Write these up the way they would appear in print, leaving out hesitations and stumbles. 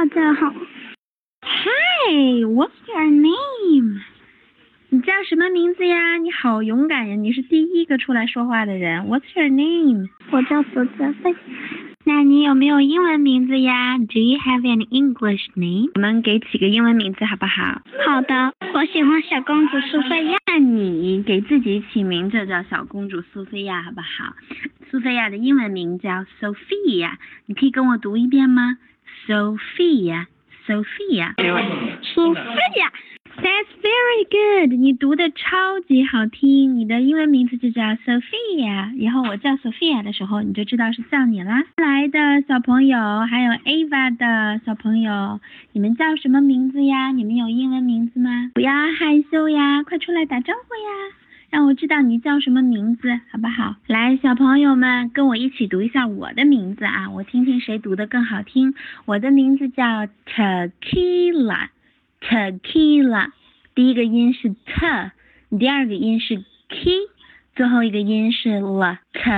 大家好。 Hi, what's your name? 你叫什么名字呀？你好勇敢呀！你是第一个出来说话的人。What's your name? 我叫苏泽飞。 那你有没有英文名字呀？ Do you have an English name? 我们给起个英文名字好不好？ 好的，我喜欢小公主苏菲亚。 那你给自己起名字叫小公主苏菲亚好不好？苏菲亚的英文名叫 Sophia， 你可以跟我读一遍吗？ Sophia， Sophia， 苏菲亚。 That's very good， 你读的超级好听。你的英文名字就叫 Sophia， 以后我叫 Sophia 的时候，你就知道是叫你啦。来的小朋友，还有 Ava 的小朋友，你们叫什么名字呀？你们有英文名字吗？不要害羞呀，快出来打招呼呀，让我知道你叫什么名字，好不好？来，小朋友们，跟我一起读一下我的名字啊，我听听谁读的更好听。我的名字叫 Tequila， 第一个音是 t， 第二个音是 k， 最后一个音是 l。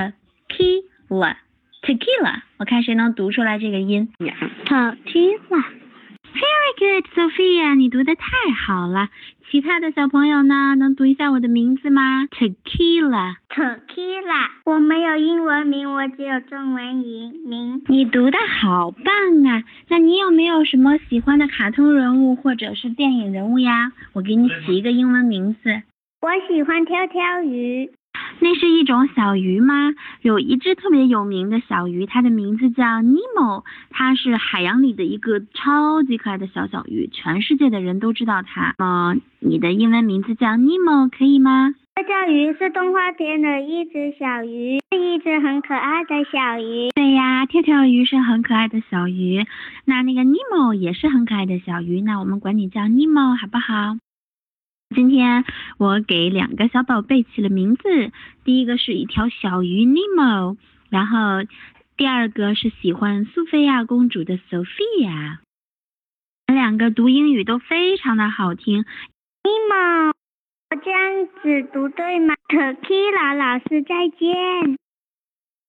Tequila， 我看谁能读出来这个音。 Tequila。 Very good, Sophia， 你读的太好了。其他的小朋友呢，能读一下我的名字吗？ Tequila。 我没有英文名，我只有中文名。 你读的好棒啊！那你有没有什么喜欢的卡通人物或者是电影人物呀？我给你起一个英文名字。 我喜欢跳跳鱼。 那是一种小鱼吗？有一只特别有名的小鱼，它的名字叫 Nemo， 它是海洋里的一个超级可爱的小鱼，全世界的人都知道它。你的英文名字叫 Nemo 可以吗？ 跳跳鱼是动画片的一只小鱼，是一只很可爱的小鱼。 对呀，跳跳鱼是很可爱的小鱼，那个 Nemo 也是很可爱的小鱼，那我们管你叫 Nemo 好不好？今天我给两个小宝贝起了名字，第一个是一条小鱼 Nemo， 然后第二个是喜欢苏菲亚公主的 Sophia。 两个读英语都非常的好听。 Nemo， 我这样子读对吗？ Tequila 老师再见。